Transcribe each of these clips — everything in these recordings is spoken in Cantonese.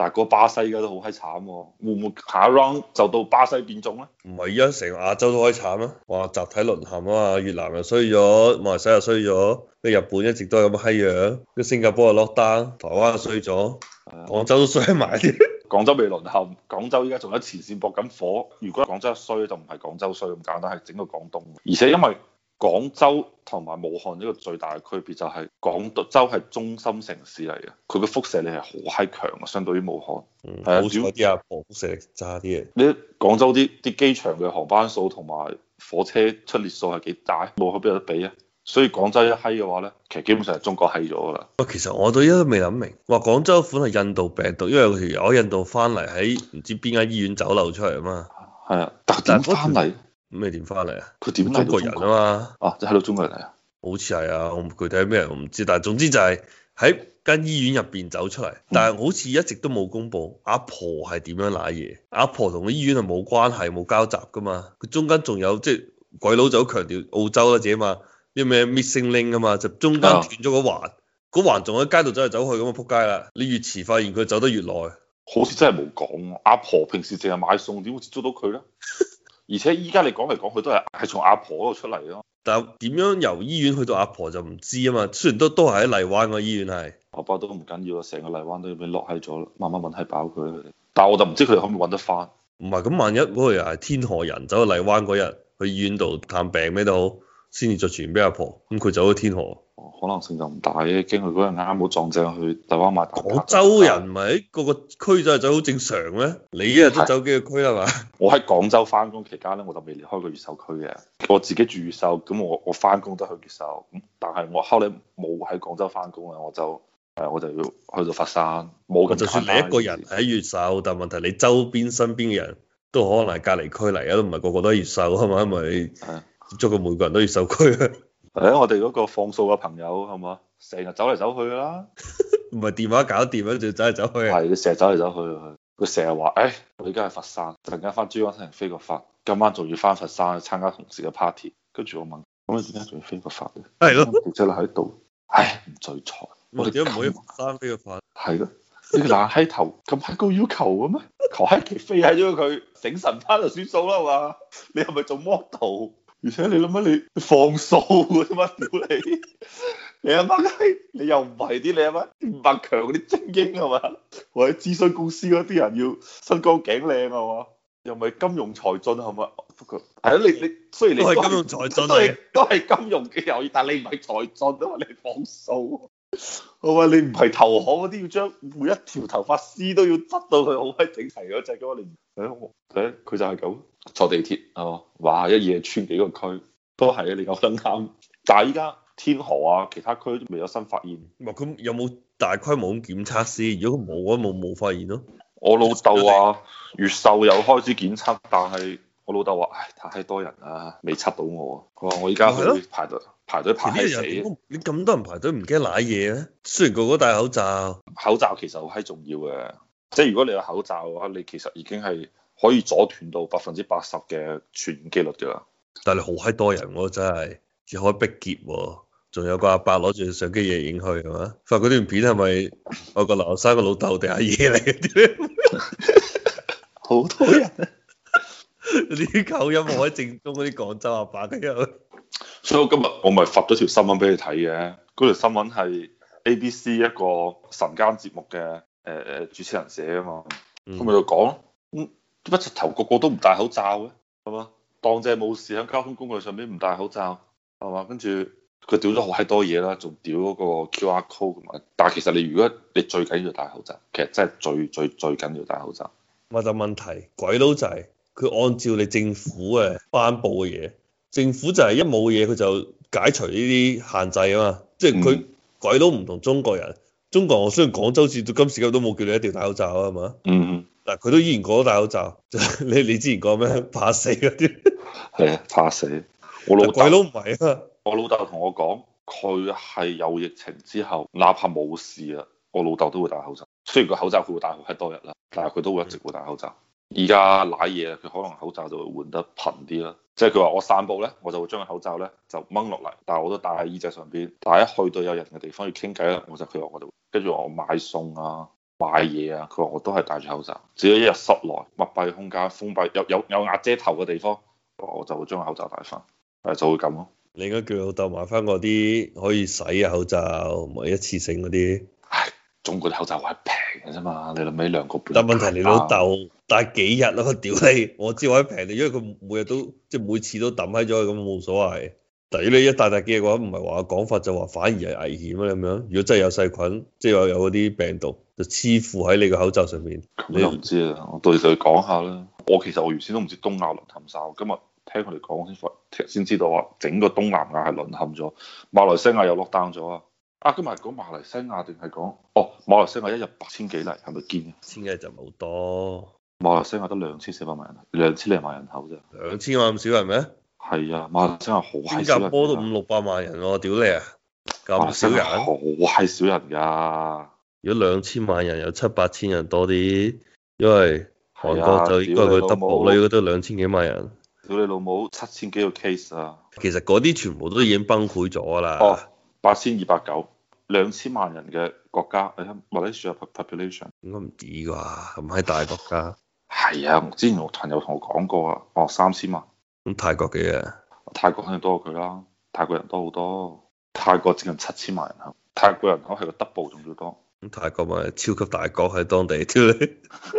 但係嗰個巴西而家都好閪慘喎，會唔會下一 round 就到巴西變種咧？ 唔係，而家成個亞洲都可以慘啊！話集體淪陷啊嘛，越南又衰咗，馬來西亞又衰咗，跟日本一直都係咁嘅閪樣，跟新加坡又 lock down，台灣又衰咗，廣州都衰埋啲。 廣州未淪陷，廣州依家仲喺前線搏緊火。如果廣州一衰就唔係廣州衰咁簡單，係整個廣東。而且因為廣州同埋武漢呢個最大嘅區別就係廣州係中心城市嚟嘅，佢嘅輻射力係好閪強嘅，相對於武漢。係啊， 好彩啲阿婆輻射力差啲嘅。 你廣州啲機場嘅航班數同埋火車出列數係幾大，武漢邊有得比啊？所以廣州一閪嘅話咧，其實基本上係中國閪咗㗎啦。 喂，其實我到依家都未諗明，話廣州款係印度病毒，因為有條友喺印度翻嚟喺唔知邊間醫院走漏出嚟啊嘛。 係啊，但係點翻嚟？ 咁你點翻嚟啊？ 佢點嚟中國人啊嘛。 啊，即係到中國人嚟啊？ 好似係啊，我具體係咩人我唔知，但係總之就係喺間醫院入邊走出嚟，但係好似一直都冇公佈阿婆係點樣瀨嘢，阿婆同個醫院係冇關係冇交集噶嘛，佢中間仲有即係鬼佬就好強調澳洲啦自己嘛，啲咩 missing link 啊嘛，就中間斷咗個環，嗰環仲喺街度走嚟走去咁啊撲街啦，你越遲發現佢走得越耐， 好似真係冇講，阿婆平時淨係買餸，點會接觸到佢咧？而且依家你講嚟講去都係從阿婆嗰度出嚟咯。 但係點樣由醫院去到阿婆就唔知啊嘛，雖然都係喺荔灣個醫院係。 我爸都唔緊要啊，成個荔灣都要俾落喺咗，慢慢揾係飽佢。但係我就唔知佢哋可唔可以揾得翻。 唔係咁，萬一嗰個又係天河人走去荔灣嗰日去醫院度探病咩都好，先至再傳俾阿婆，咁佢走咗天河。 可能性就唔大嘅，驚佢嗰日啱好撞正去荔灣買。 廣州人唔係喺個個區就係走好正常咩？你一日都走幾個區係嘛？ 我喺廣州翻工期間咧，我就未離開過越秀區嘅。我自己住越秀，咁我翻工都去越秀，咁但係我後嚟冇喺廣州翻工啊，我就要去到佛山。冇咁就算你一個人喺越秀，但問題你周邊身邊嘅人都可能係隔離區嚟嘅，都唔係個個都喺越秀係嘛？因為接觸嘅每個人都越秀區啊。 我哋嗰個放數嘅朋友係嘛，成日走嚟走去啦， 唔係電話搞掂啊，仲走嚟走去啊。 係佢成日走嚟走去，佢成日話，我而家喺佛山，陣間翻珠江新城飛個發，今晚仲要翻佛山去參加同事嘅 party。跟住我問，咁你點解仲要飛個發咧？ 係咯， 記者喺度，唔聚財。 我哋點解唔可以佛山飛個發？ 係咯，你個爛閪頭咁閪高要求嘅咩？求閪其飛喺咗佢，醒神翻就算數啦嘛。你係咪做 model？而且你諗下你放數嘅啫嘛，屌你！你阿媽閪，你又唔係啲你阿媽五百強嗰啲精英係嘛？或者諮詢公司嗰啲人要身高頸靚係嘛？又咪金融才俊係嘛？不過係咯，你雖然你都係金融才俊都係金融嘅行業，但係你唔係才俊啊嘛，你放數。我話你唔係投行嗰啲，要將每一條頭髮絲都要執到佢好閪整齊嗰隻嘅話，你佢就係咁坐地鐵係嘛？哇！一夜穿幾個區都係啊！你講得啱。但係依家天河啊，其他區都未有新發現。 咁有冇大規模咁檢測先？如果冇啊，冇發現咯。 我老豆話越秀有開始檢測，但係我老豆話太多人啦，未測到我。佢話我而家去排隊排死。 你咁多人排隊唔驚瀨嘢咩？雖然個個戴口罩， 口罩其實好閪重要嘅。即係如果你有口罩嘅話，你其實已經係可以阻斷到80%嘅傳染機率㗎啦。 但係你好閪多人喎，真係只可以逼劫喎。仲有個阿伯攞住相機影影去係嘛？發嗰段片係咪我個劉生個老豆定阿爺嚟嘅？ 好多人啊！ 啲口音好喺正宗嗰啲廣州阿伯嘅樣。 所以我今日我咪發咗條新聞俾你睇嘅，嗰條新聞係 ABC 一個晨間節目嘅主持人寫啊嘛，佢咪就講，點解直頭個個都唔戴口罩嘅，係嘛？當正冇事喺交通工具上邊唔戴口罩，係嘛？跟住佢屌咗好閪多嘢啦，仲屌嗰個 QR code 同埋，但係其實你如果你最緊要戴口罩，其實真係最緊要戴口罩。 咪就問題，鬼佬就係佢按照你政府嘅頒布嘅嘢。政府就係一冇嘢佢就解除呢啲限制啊嘛，即係佢鬼佬唔同中國人，中國人我相信廣州至到今時今日都冇叫你一定要戴口罩啊，係嘛？但係佢都依然講戴口罩，你之前講咩怕死嗰啲？係啊，怕死。我老鬼佬唔係啊， 我老豆同我講，佢係有疫情之後，哪怕冇事啊，我老豆都會戴口罩。雖然個口罩佢會戴好閪多日啦，但係佢都會一直會戴口罩。而家瀨嘢，佢可能口罩就會換得頻啲啦。即係佢話我散步咧，我就會將個口罩咧就掹落嚟，但係我都戴喺耳仔上邊。但係一去到有人嘅地方要傾偈啦，佢話我就跟住我買餸啊， 買嘢啊，佢話我都係戴住口罩，只要一日室內密閉空間封閉有瓦遮頭嘅地方，我就會將個口罩戴翻，就會咁咯。 你應該叫老豆買翻嗰啲可以洗嘅口罩，唔係一次性嗰啲。 唉，中國啲口罩係平嘅啫嘛，你諗起2個半。 但問題你老豆戴幾日咯？屌你！我知我喺平，因為佢每日都即係每次都抌喺咗，咁冇所謂。但如果你一戴幾日嘅話，唔係話講法就話反而係危險啊咁樣。如果真係有細菌，即係有嗰啲病毒就黐附喺你個口罩上面， 你又唔知啊？我到時就講下啦。我其實我原先都唔知東亞淪陷晒，今日聽佢哋講先知道話整個東南亞係淪陷咗，馬來西亞又落單咗啊！啊，今日係講馬來西亞定係講馬來西亞一日8000幾例係咪堅嘅？ 千幾就冇多。 馬來西亞得2400萬人，2000多萬人口啫。 2000萬咁少人咩？ 係啊，馬來西亞好閪少人。 新加坡都500-600萬人喎，屌你啊！咁少人？ 好閪少人㗎。 如果2000萬人有700-8000人多啲，因為韓國就應該佢 double 啦，應該都2000幾萬人。 屌你老母，7000幾個 case 啊！ 其實嗰啲全部都已經崩潰咗啦。 8290，2000萬人嘅國家，你睇馬來西亞 population 應該唔止啩，咁喺大國家。 係啊，之前我朋友同我講過啊，3000萬。 咁泰國幾啊？ 泰國肯定多過佢啦，泰國人多好多，泰國接近7000萬人口，泰國人口係個 double 仲要多。 咁泰國咪超級大國喺當地，屌你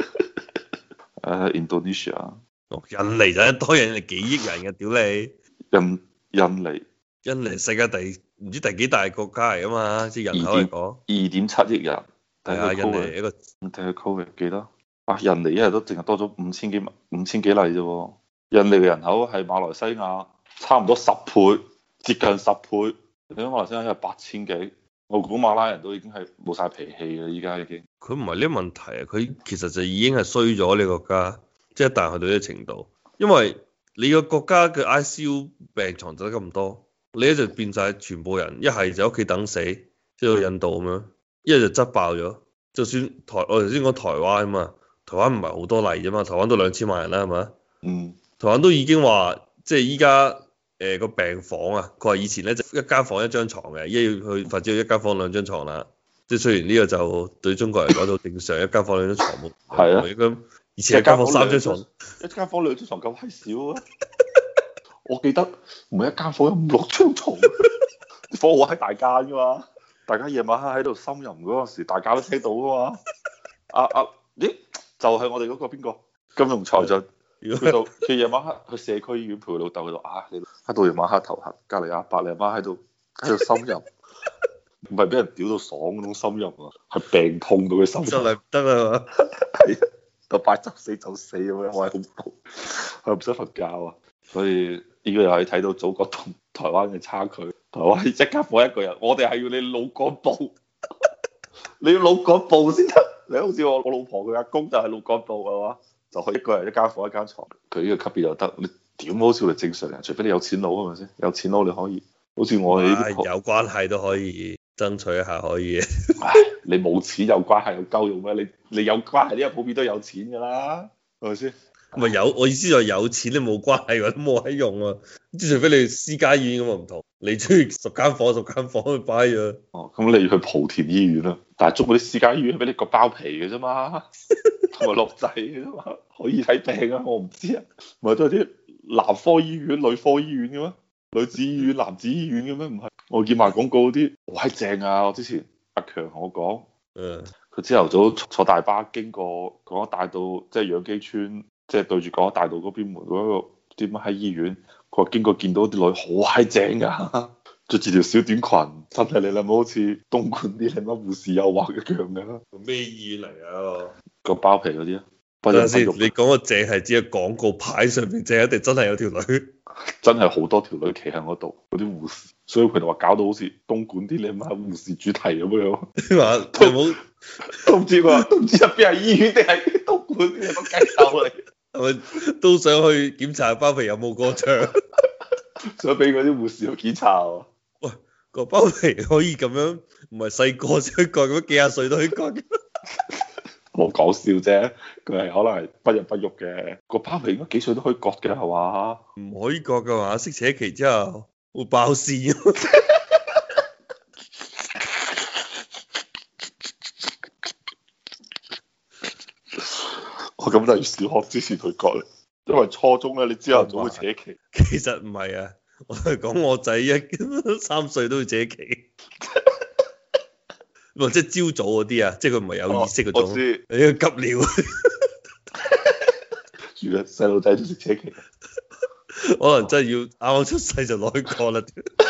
！Indonesia， 印尼就一多人，幾億人嘅，屌你！印尼世界唔知第幾大國家嚟啊嘛，即係人口嚟講 2.7億人。 係啊，印尼一個。 睇下 Covid 幾多？啊，印尼一日都淨係多咗5000幾例啫喎。印尼嘅人口係馬來西亞差唔多10倍，接近10倍。你睇馬來西亞因為8000幾，我估馬拉人都已經係冇晒脾氣嘅，依家已經。 佢唔係呢個問題啊，佢其實就已經係衰咗呢個國家，即係一旦去到呢個程度，因為你個國家嘅 ICU 病床就得咁多，你一就變晒全部人，一係就屋企等死，即係印度咁樣，一係就擠爆咗。就算我頭先講台灣啊嘛，台灣唔係好多例啫嘛，台灣都2000萬人啦，係咪？ 嗯。 台灣都已經話，即係依家個病房啊，佢話以前咧就一間房一張床嘅，一要去發展一間房2張床啦。即係雖然呢個就對中國人講到正常，一間房2張床冇。 係啊。 咁以前一間房3張床， 一間房2張床咁閪少啊！我記得每一間房有5-6張床，啲房好閪大間噶嘛，大家夜晚黑喺度呻吟嗰陣時，大家都聽到噶嘛。咦？就係我哋嗰個邊個金融才俊。佢夜晚黑去社區醫院陪佢老豆，佢話你喺到夜晚黑頭痕，隔離阿伯你阿媽喺度呻吟，唔係俾人屌到爽嗰種呻吟啊，係病痛到佢呻吟。 真係唔得啊嘛！ 係啊，就快執死就死咁樣，我係恐怖，佢唔使瞓覺啊。所以呢個又係睇到祖國同台灣嘅差距。台灣一間房一個人，我哋係要你腦幹部，你要腦幹部先得。你好似我老婆佢阿公就係腦幹部係嘛？就可以一個人一間房一間床，佢呢個級別就得。你點好似我哋正常人，除非你有錢佬係咪先？有錢佬你可以，好似我哋呢啲有關係都可以爭取一下可以。 唉，你冇錢有關係有鳩用咩？你有關係呢個普遍都有錢㗎啦，係咪先？ 咪有，我意思就係有錢你冇關係都冇閪用啊！即除非你私家醫院咁啊唔同，你中意10間房去擺啊。 哦，咁你要去莆田醫院啦，但係中國啲私家醫院係俾你割包皮嘅啫嘛，同埋落掣嘅啫嘛，可以睇病啊，我唔知啊，唔係都係啲男科醫院、女科醫院嘅咩？女子醫院、男子醫院嘅咩？唔係，我見賣廣告嗰啲好閪正啊！我之前阿強同我講，佢朝頭早坐大巴經過廣州大道，即係楊箕村。即係對住廣州大道嗰邊門嗰個點樣喺醫院，佢話經過見到啲女好閪正㗎，着住條小短裙，真係你諗好似東莞啲你乜護士誘惑一樣㗎。 咩醫院嚟啊？ 個包皮嗰啲啊？ 等陣先，你講個正係只係廣告牌上面正，一定真係有條女， 真係好多條女企喺嗰度，嗰啲護士，所以佢哋話搞到好似東莞啲你乜護士主題咁樣。 話都唔知都唔知入邊係醫院定係東莞啲乜雞竇嚟。 係咪都想去檢查包皮有冇過長？ 想俾嗰啲護士去檢查喎。 喂，個包皮可以咁樣，唔係細個先去割，咁幾廿歲都可以割。 我講笑啫，佢係可能係不孕不育嘅。個包皮應該幾歲都可以割嘅係嘛？ 唔可以割㗎嘛？適且期之後會爆線。 我咁就要小學之前去割咧，因為初中咧你朝頭早會扯旗。 其實唔係啊，我係講我仔3歲都會扯旗，即係朝早嗰啲啊，即係佢唔係有意識嗰種。 我知你個急尿， 原來細路仔都識扯旗。 可能真係要啱啱出世就攞去割啦，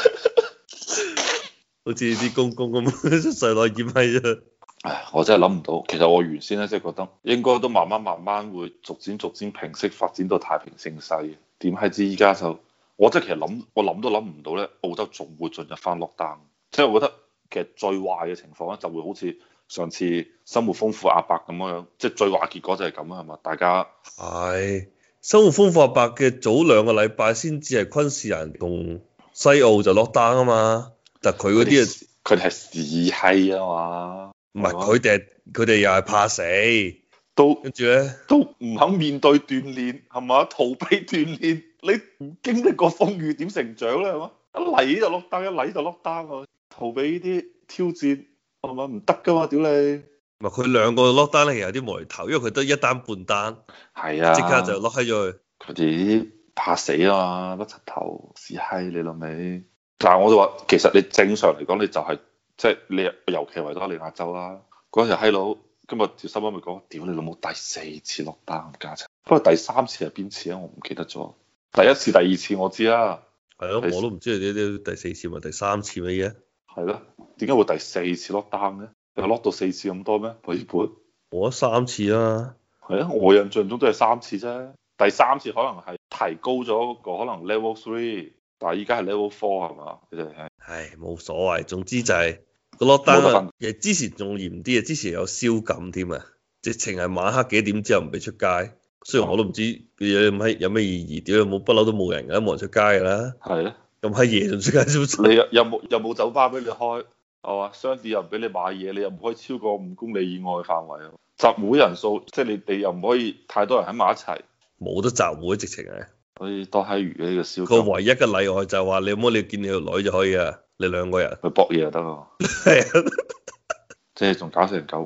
好似啲公公咁出世攞去染閪啫。 唉，我真係諗唔到。其實我原先咧即係覺得應該都慢慢會逐漸平息發展到太平盛世嘅。點係知依家就我真係其實我諗都諗唔到咧，澳洲仲會進入翻 lockdown。即係我覺得其實最壞嘅情況咧就會好似上次生活豐富阿伯咁樣，即係最壞結果就係咁啊，係嘛？大家係生活豐富阿伯嘅早2個禮拜先至係昆士蘭同西澳就 lockdown 啊嘛，但係佢嗰啲啊， 佢哋係屎閪啊嘛。 唔係佢哋又係怕死，跟住咧都唔肯面對鍛鍊係嘛？逃避鍛鍊，你唔經歷過風雨點成長咧係嘛？一嚟就落單，一嚟就落單啊！逃避呢啲挑戰係嘛？唔得噶嘛，屌你！ 唔係佢2個 lockdown 咧，其實有啲無厘頭，因為佢得一單半單， 係啊， 即刻就 lock 閪咗佢。 佢哋怕死啊嘛，甩柒頭屎閪你老味。但係我就話，其實你正常嚟講，你就係、即係你尤其維多利亞州啦，嗰陣閪佬今日條新聞咪講，屌你老母第4次落單加齊，不過第3次係邊次啊？我唔記得咗。第1次、第2次我知啦， 係咯，我都唔知你啲第4次咪第3次乜嘢？ 係咯，點解會第4次落單咧？有落到4次咁多咩？本我得3次啦。 係啊，我印象中都係3次啫。第3次可能係提高咗個可能 level 3，但係依家係 level 4係嘛？佢哋係。 唉，冇所謂，總之就係個 lockdown 其實之前仲嚴啲啊，之前有宵禁添啊，直情係晚黑幾點之後唔俾出街。雖然我都唔知有咩意義，屌冇不嬲都冇人㗎，冇人出街㗎啦。係啊，咁閪夜仲出街做？你有冇酒吧俾你開？係嘛？商店又唔俾你買嘢，你又唔可以超過5公里以外嘅範圍。集會人數即係你哋又唔可以太多人喺埋一齊。 冇得集會，直情係。 所以多閪餘嘅呢個宵禁。 個唯一嘅例外就係話你有冇你見你條女就可以啊，你2個人去搏嘢就得咯。 係啊， 即係仲搞成嚿。